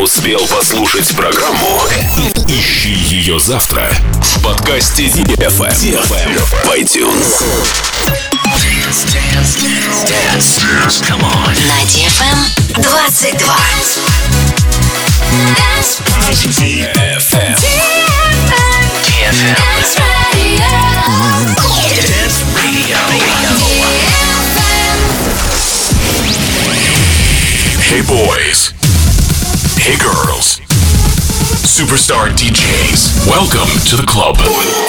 успел послушать программу, ищи ее завтра в подкасте DFM в iTunes. Dance. Come on. На DFM 22. DFM. Dance Radio. Hey boys. Hey girls. Superstar DJs. Welcome to the club.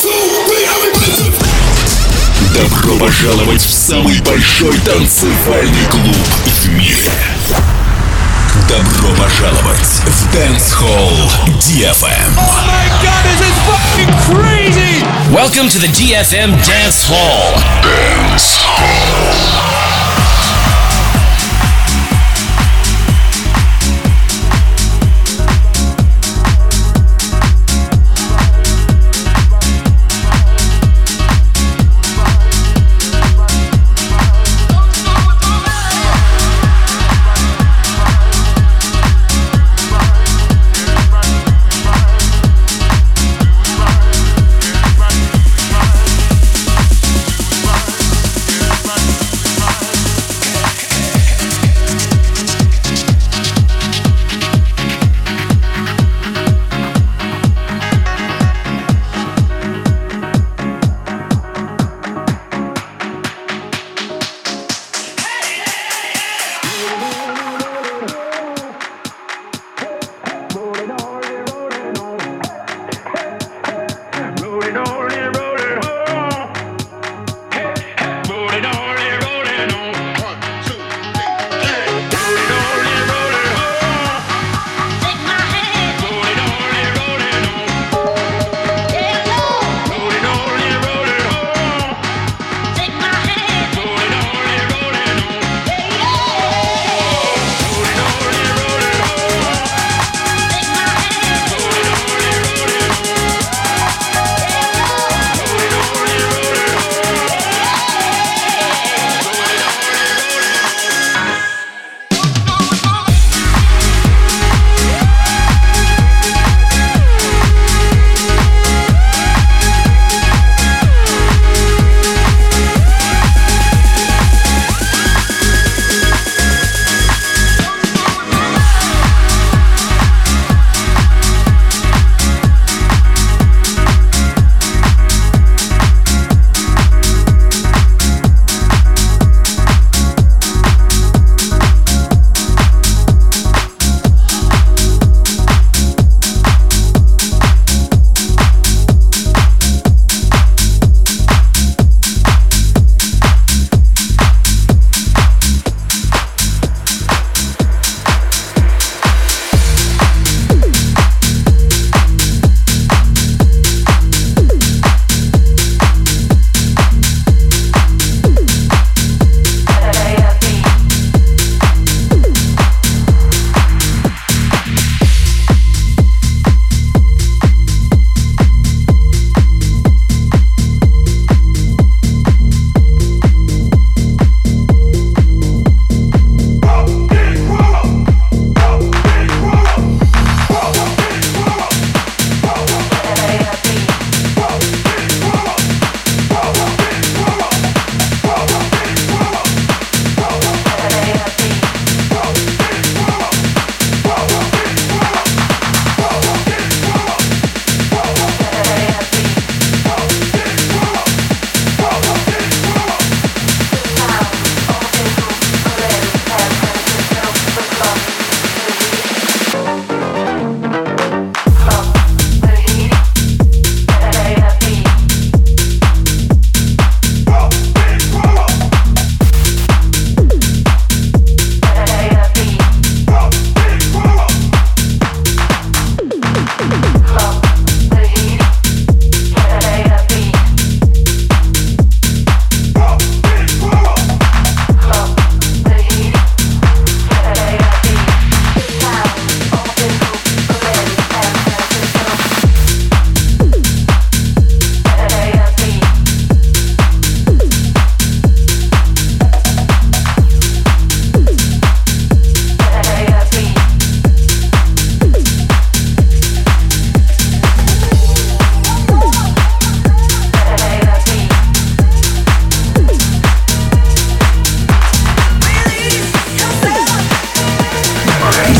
Добро пожаловать в самый большой танцевальный клуб в мире. Добро пожаловать в Dance Hall DFM. Oh my god, this is fucking crazy! Welcome to the DFM Dance Hall. Dance Hall.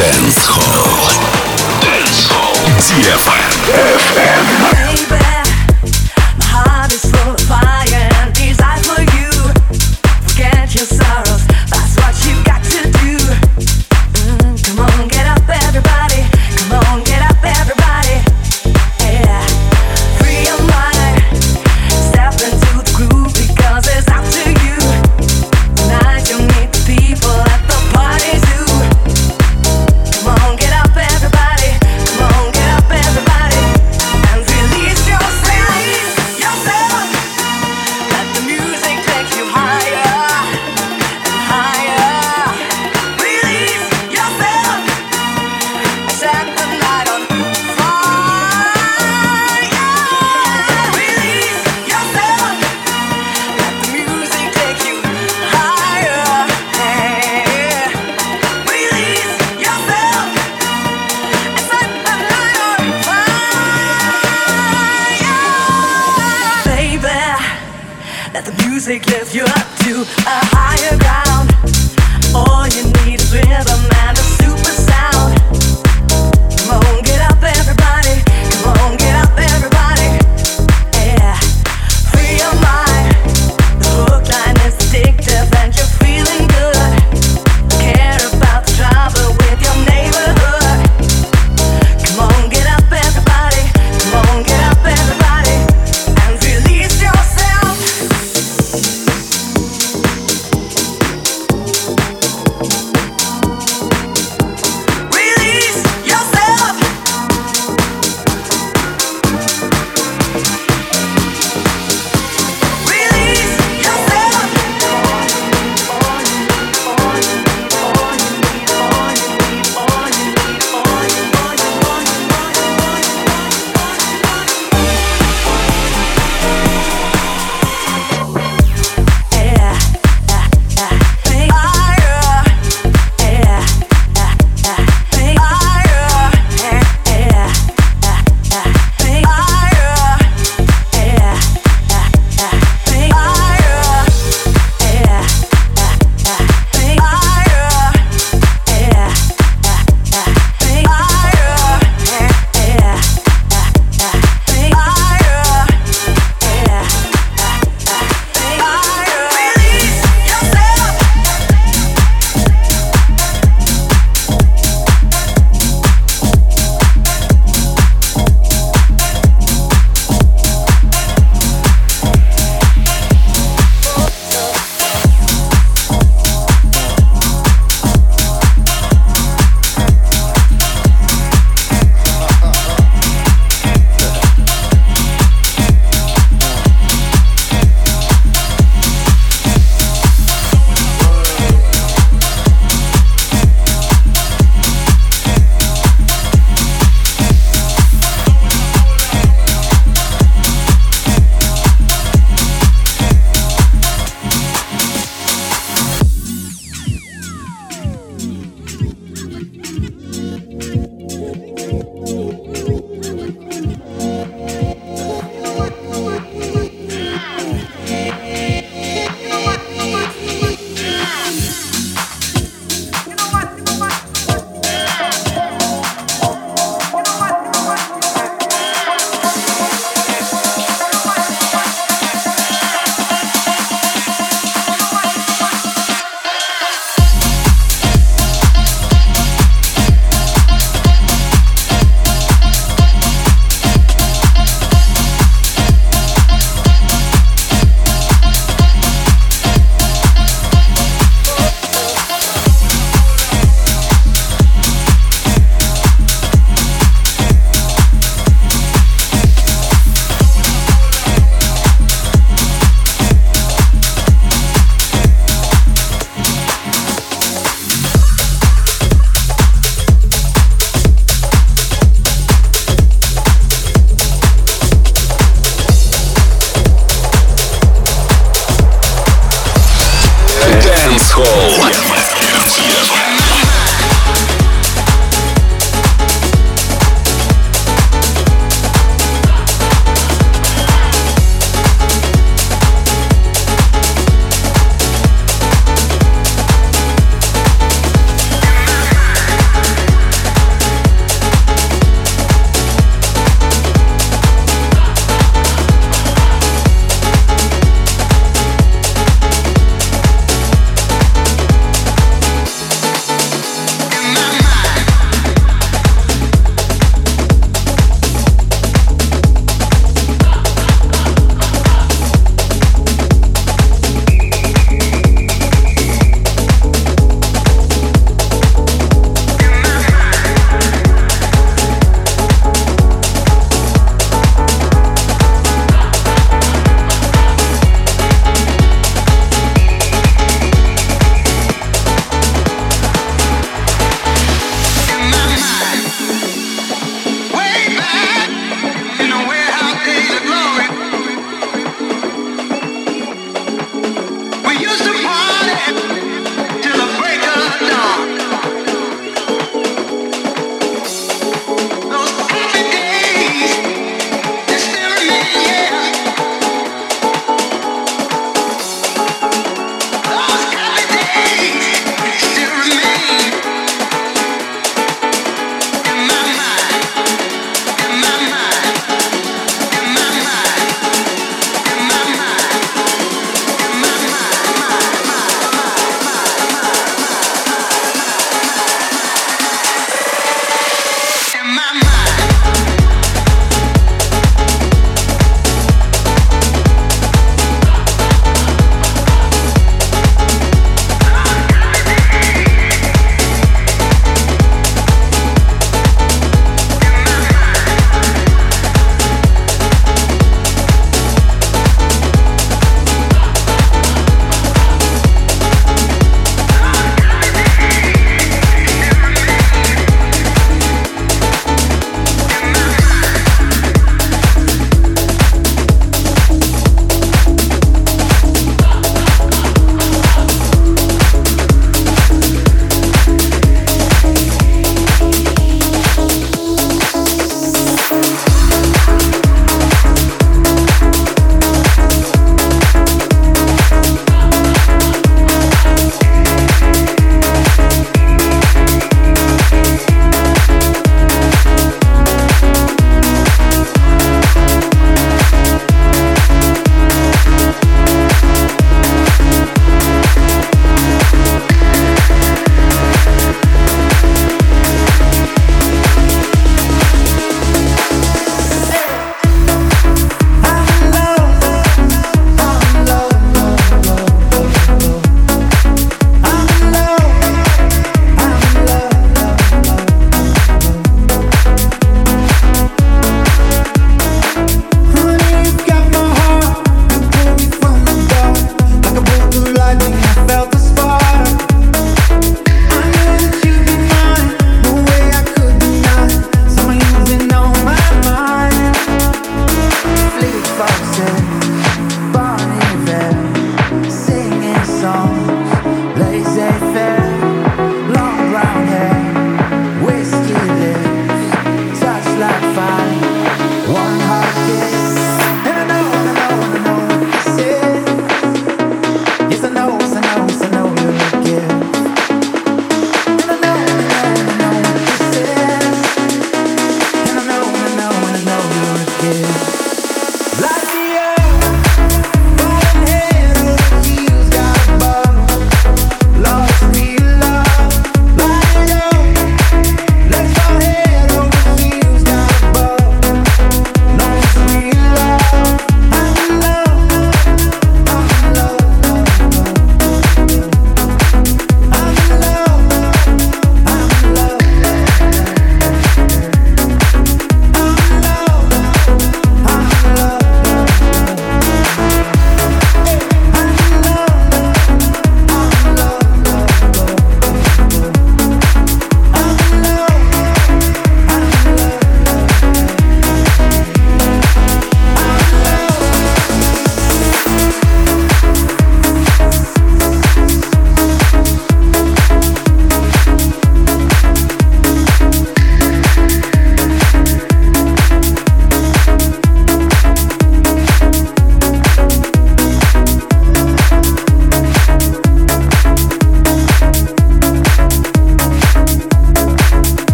Dance Hall. DFM. Everybody, and release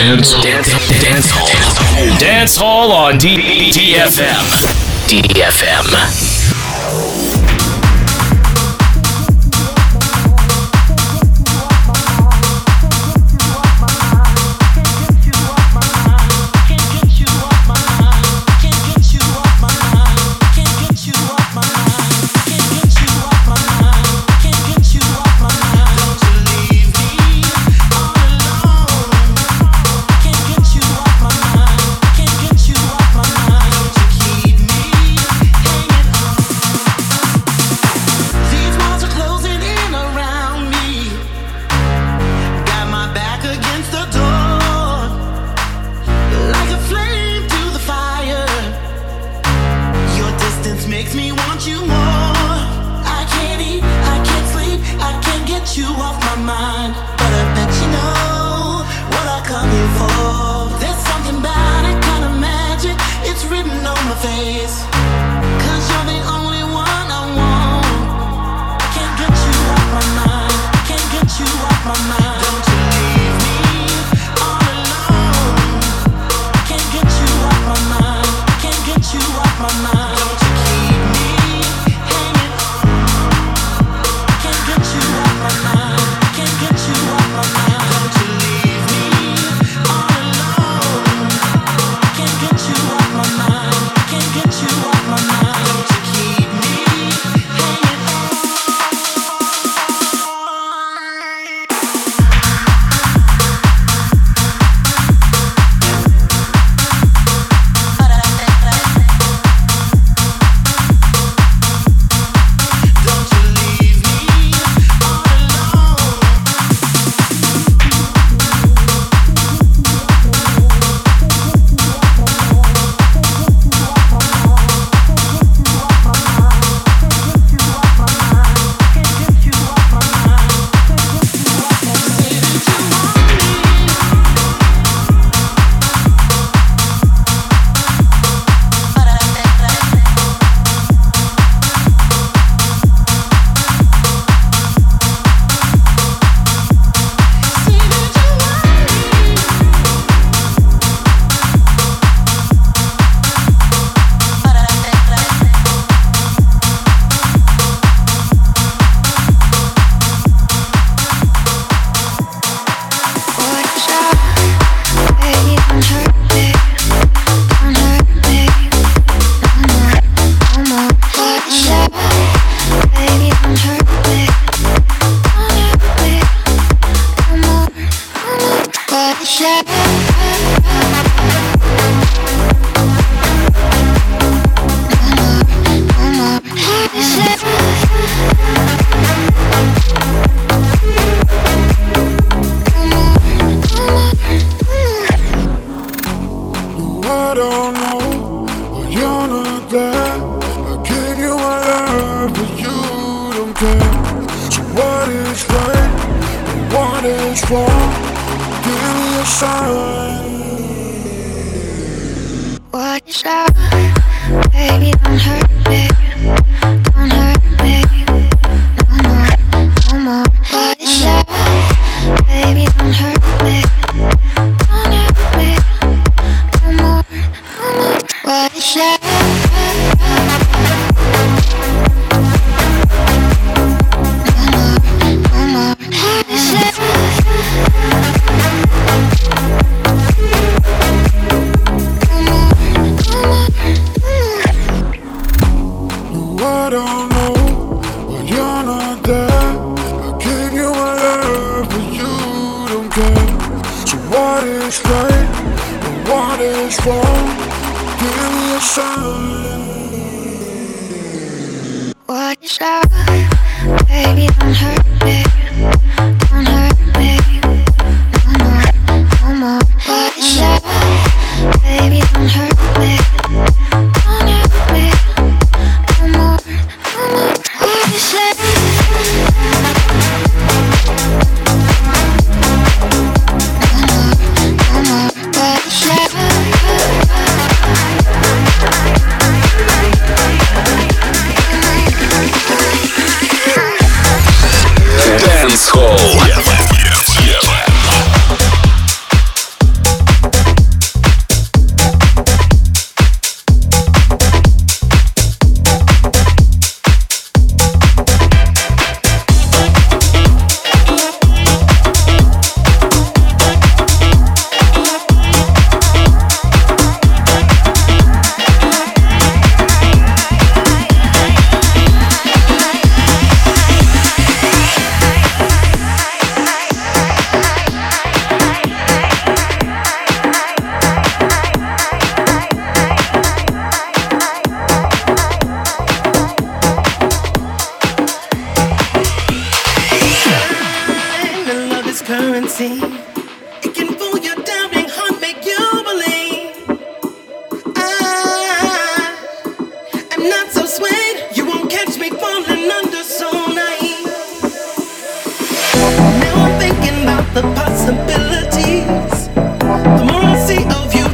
Dance Hall. Dance Hall on DFM. DFM.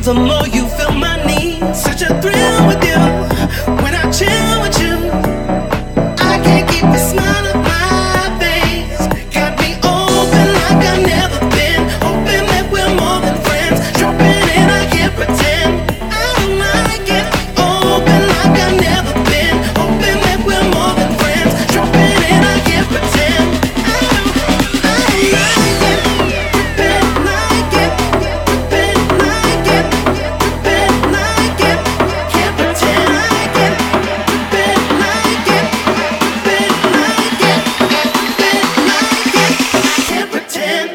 the more you fill my needs. Such a thrill with you. When I chill with you, I can't keep a smile on my face. Got me open like I've never been. Hoping that we're more than friends. Dropping in, I can't pretend. I don't like it. Open like I've never been. Hoping that we're more than friends. Dropping in, I can't pretend. I don't like it. Dripping like it. Dripping like it. Dripping like it. Can't pretend like it. Dripping like it. Dripping like it. Dripping like it. Can't pretend.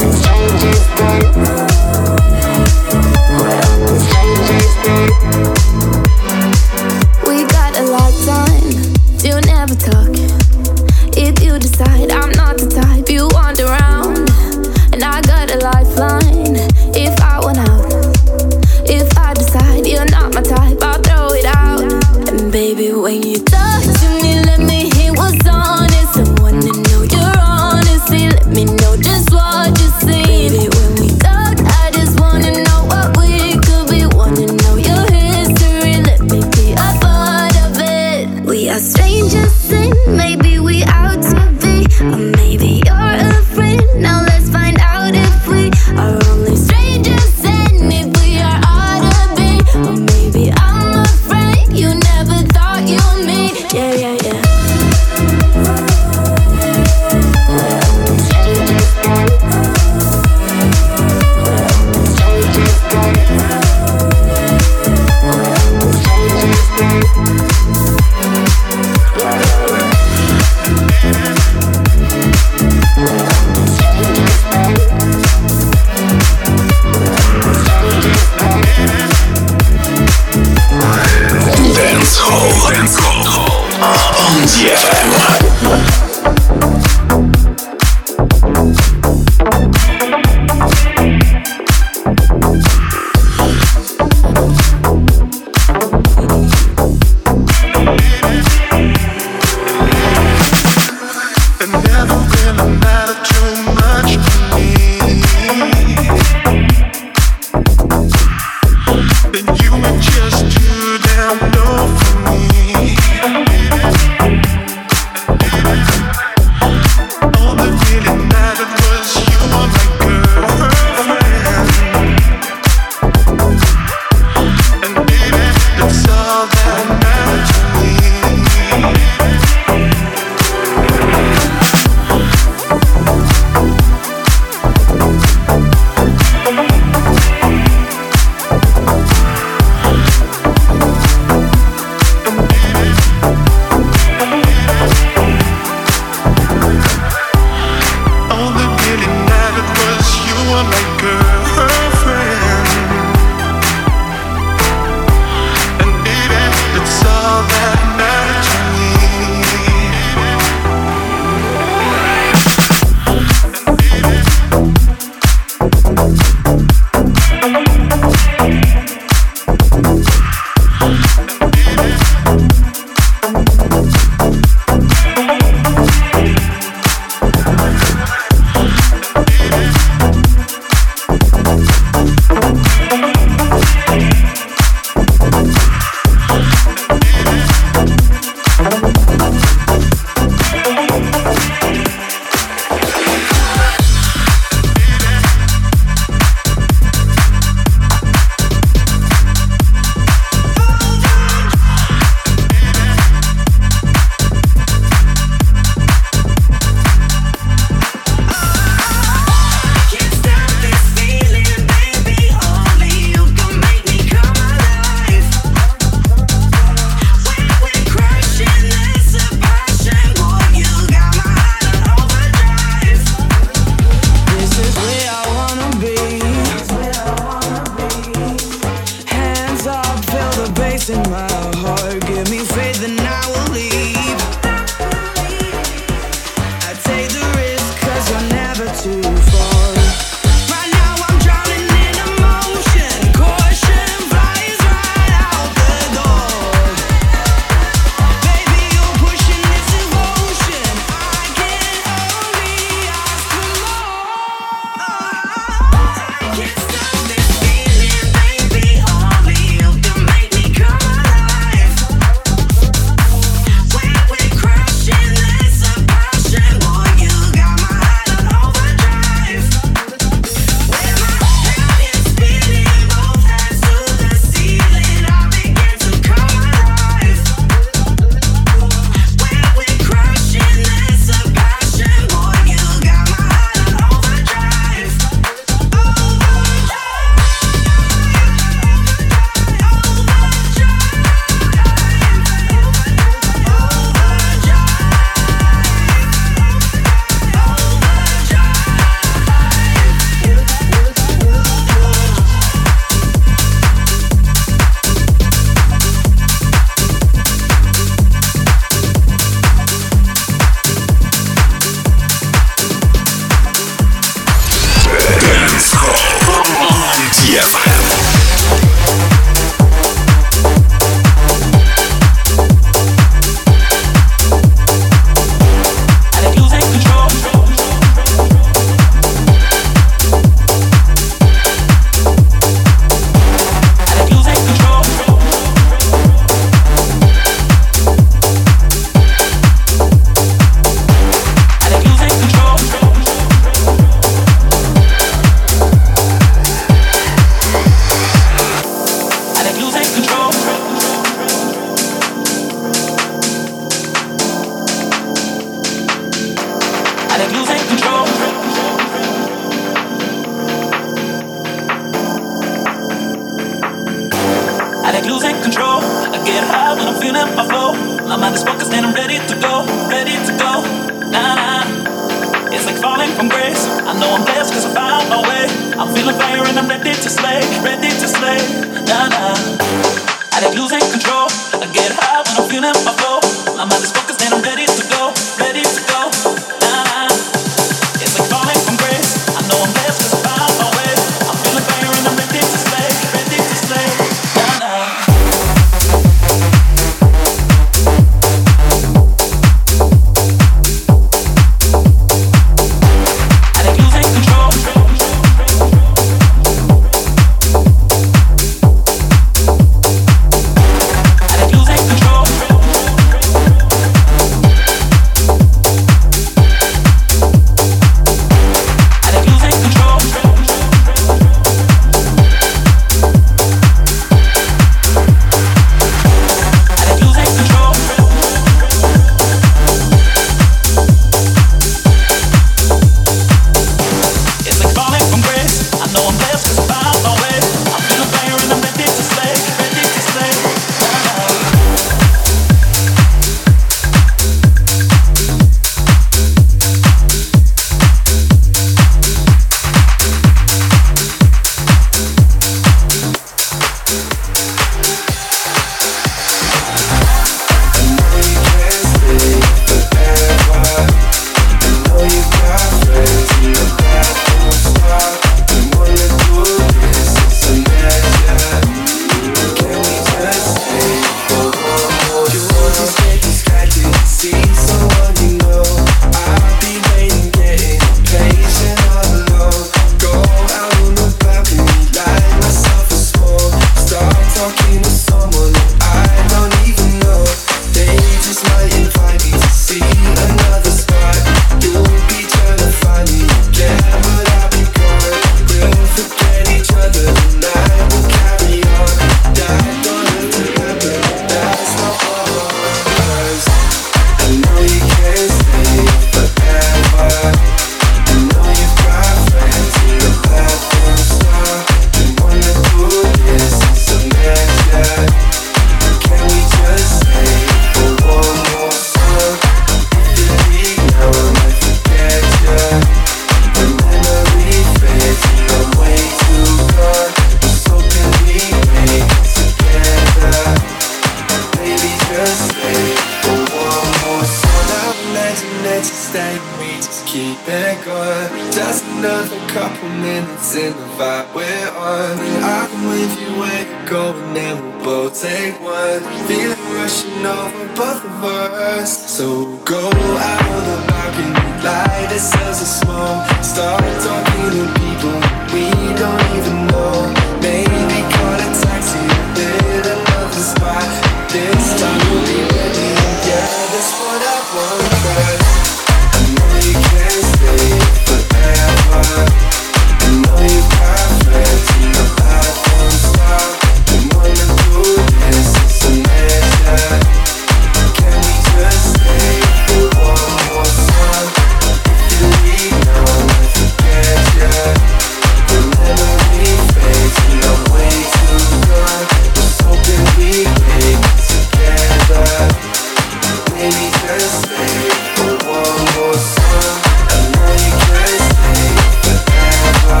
stay, we just keep it going. Just another couple minutes in the vibe we're on. I'm with you where you're going and we'll both take one. Feeling rushing over both of us. So go out on the balcony, light ourselves a smoke. Start talking to people we don't even know. Maybe call a taxi, hit another spot. This time we'll be ready, yeah, that's what I want. But I know you can't stay forever. I know you got friends in the life won't stop. We wanna do this, it's a measure. Can we just stay for one more song? If you leave now, I forget ya. The memory fades and I'm way too gone. Was hoping we make it together. Maybe just stay for one more song. I know you can't stay forever.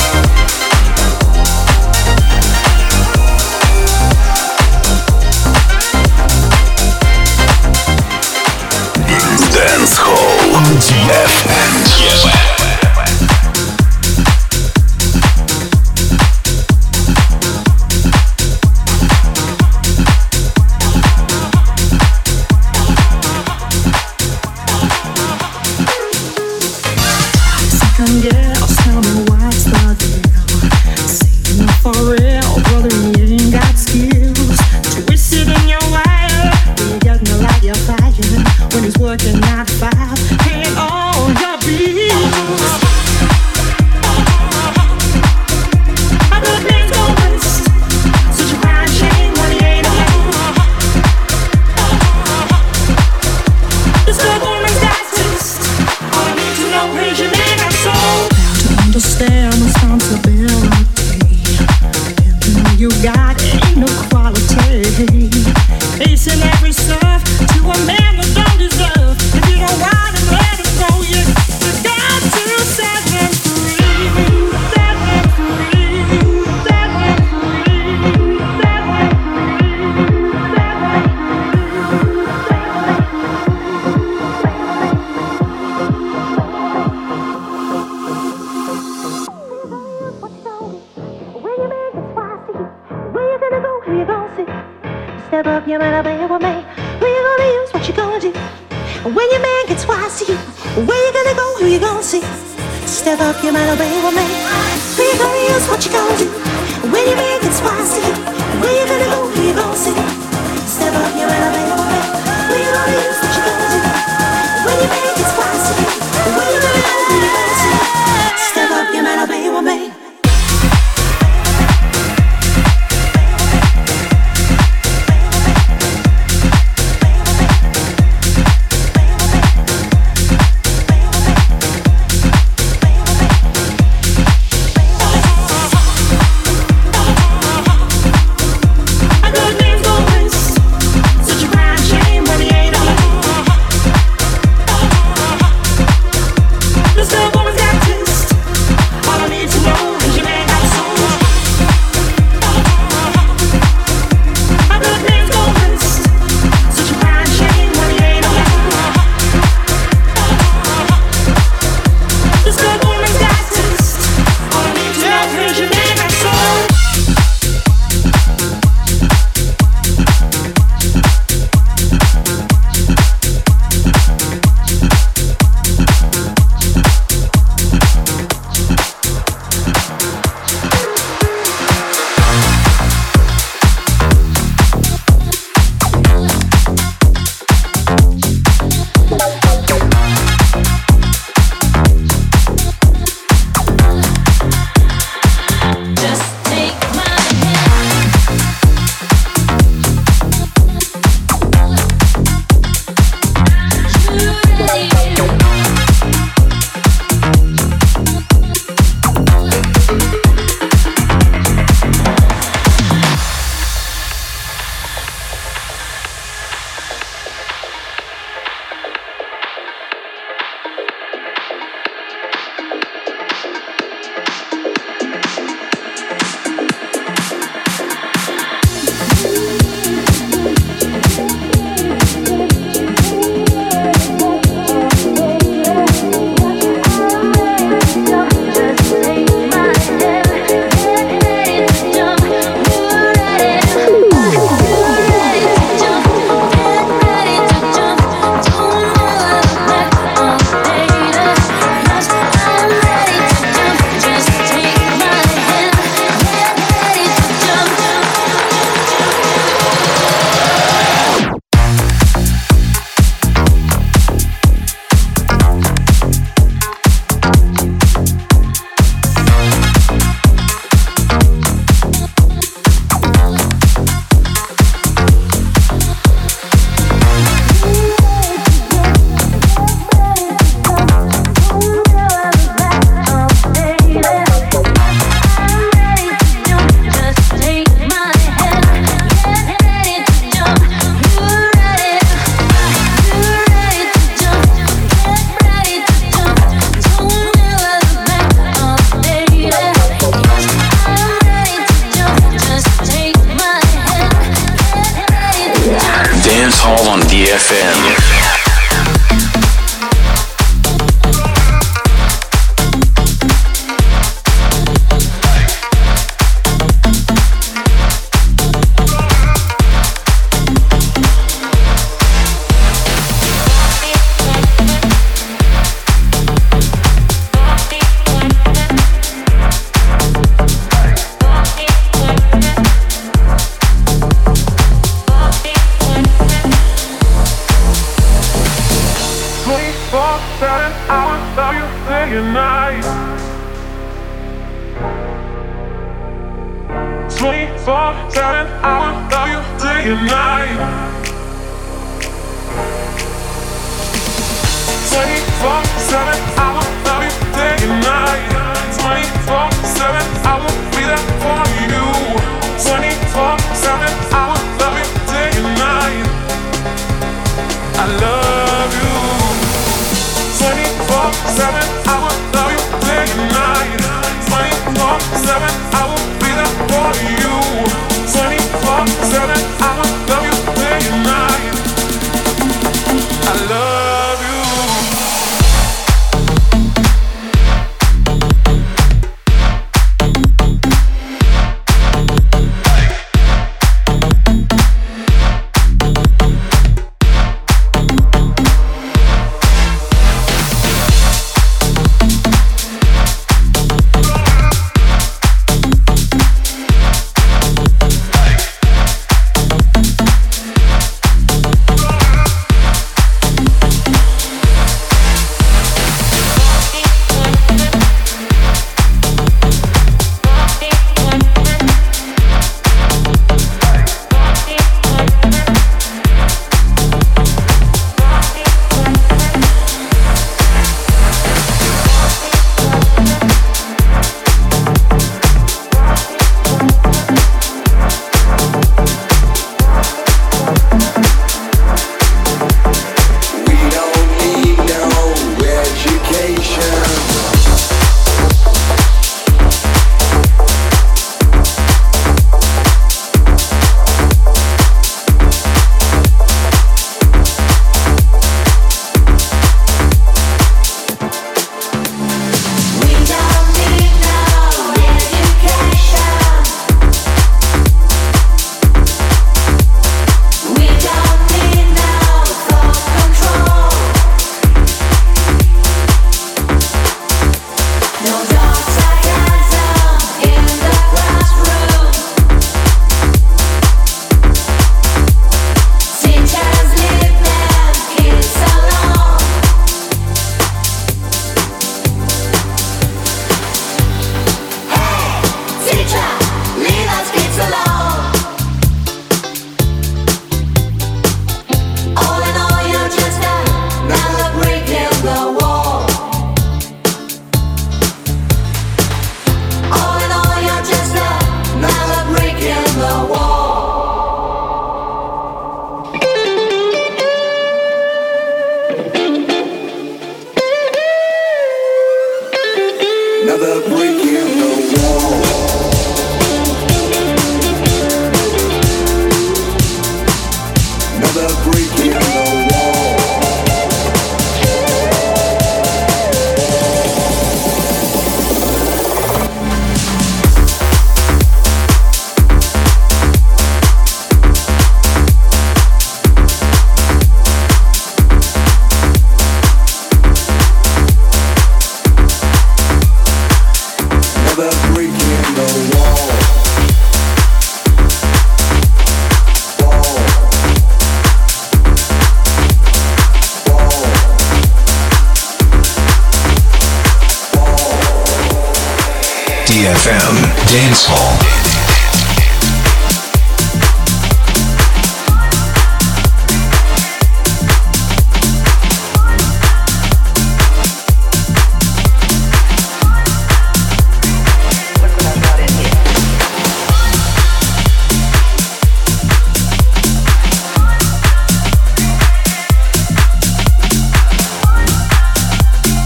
Dance Hall DFM. Second girls, tell me what's the deal. Saying not for real, brother, you ain't got skills. Twisted in your wire, you got me like you're fighting. When he's working 9 to 5, paying all your bills. I got things go west, such a fine shame when he ain't alone. This good woman's got taste. All I need to know is your name and soul. To understand responsibility, and you got ain't no quality. Facing every serve to a man that don't deserve. If you don't want him, let him go. You got to set him free. Set him free. Set him free. Set him Step up, you better be with me. Who you gonna use? What you gonna do? When your man gets wise to you, where you gonna go? Who you gonna see? Step up, you better be with me. Who you gonna use? What you gonna do? When your man gets wise to you, where you gonna go? Who you gonna see? Step up, you better be with me. Who you gonna use? What you gonna do? When your man gets wise to you, where you gonna go? Who you gonna see? Step up, you better be with me. I got names go west, such a fine shame. 24/7, I will love you day and night. 24/7, I will love you day and night. 24/7, I will love you day and night. 24/7, I will be there for you. 24/7, I will love you day and night. I love you. 24/7, I will love you day and night. 24/7, I will be there for you. 24/7, I will love you day and night. I love you. DFM Dance Hall.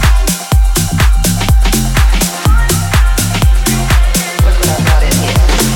Look what I got in here.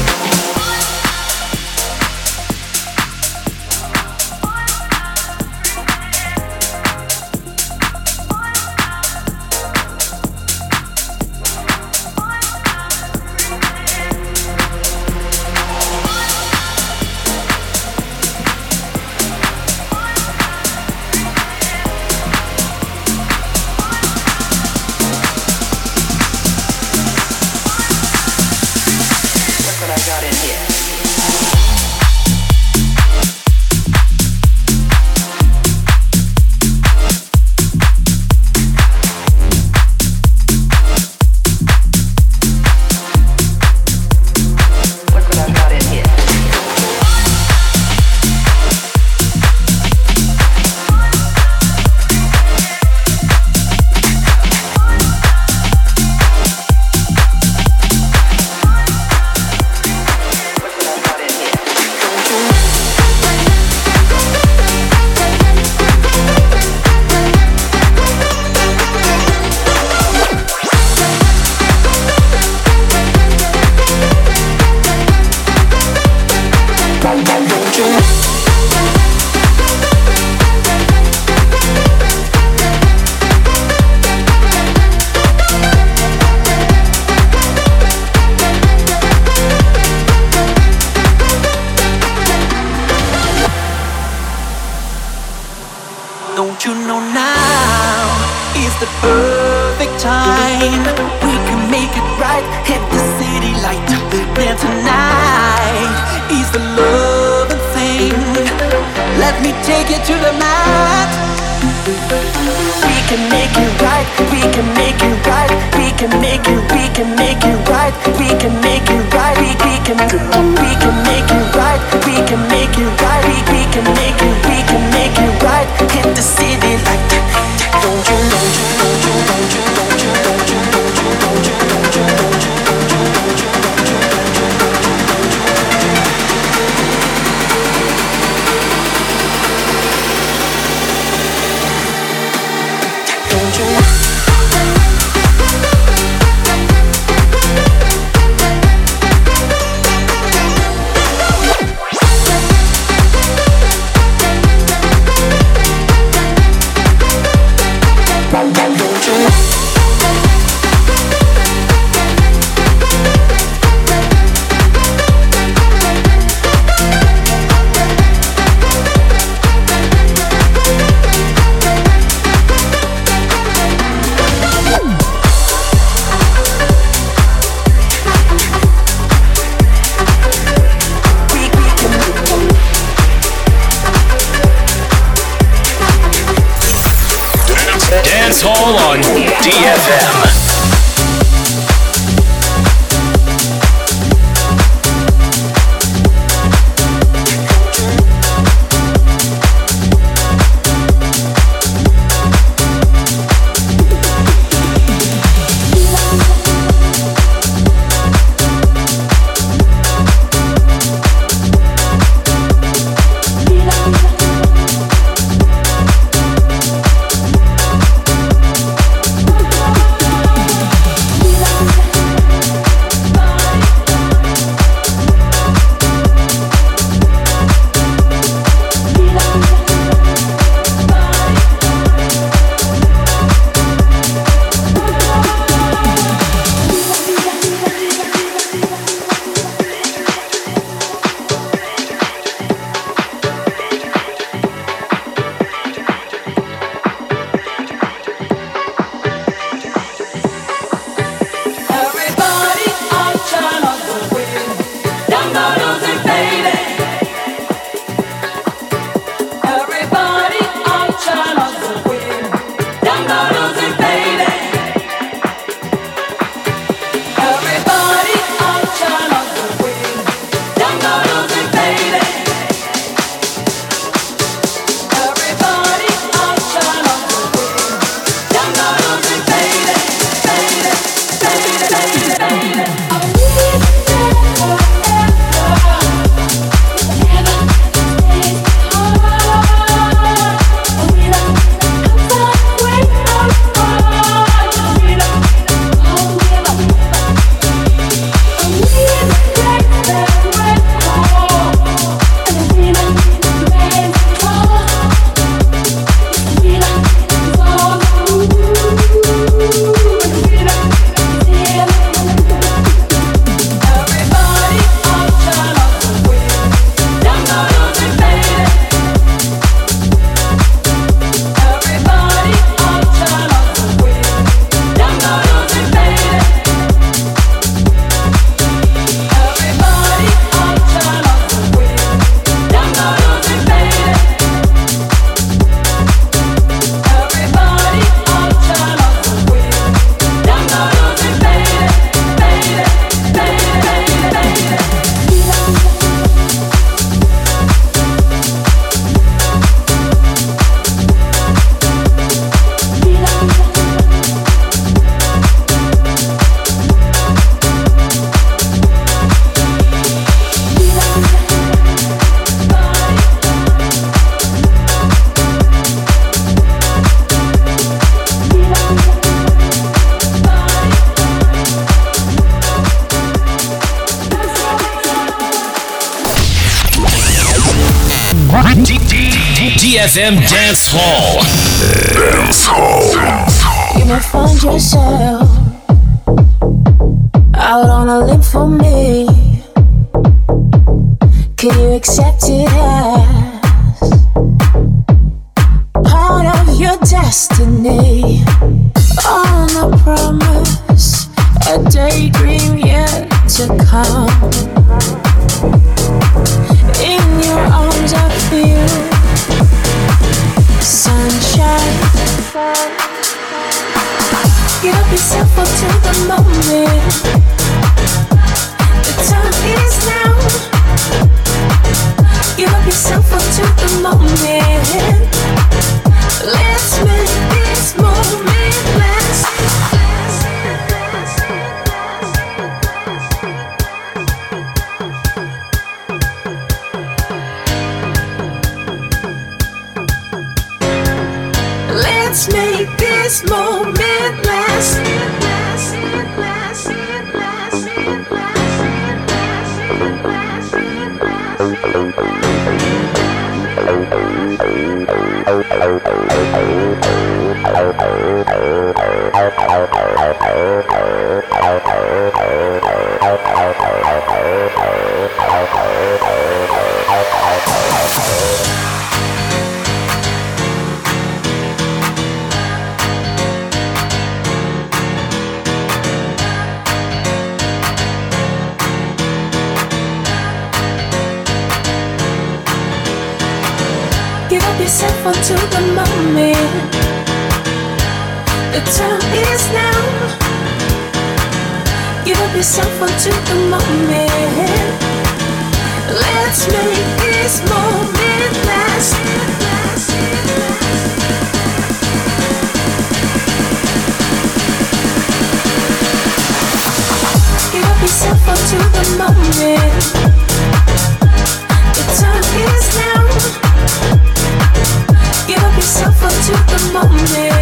Don't you know now is the perfect time? We can make it right, hit the city light. Then tonight is the loving thing. Let me take you to the mat. We can make it right, we can make it right, we can make it, we can make it right, we can make it right, we can make it right, we can make it right, we can make it, we can make it right. Hit the city like don't you, don't you, don't you, don't you, don't you, don't you, don't you, don't you, don't you, don't you. Dance Hall on DFM. DFM Dance Hall. Dance Hall. You may find yourself out on a limb for me. Can you accept it as part of your destiny. On a promise, a daydream yet to come. In your arms I feel sunshine. Give up yourself to the moment. The time is now. Give up yourself to the moment. Let's make this moment last. Let's make this moment last. Give up yourself onto the moment. The time is now. Give up yourself onto the moment. Let's make this moment last. Give up yourself onto the moment. The time is now. Give up yourself onto the moment.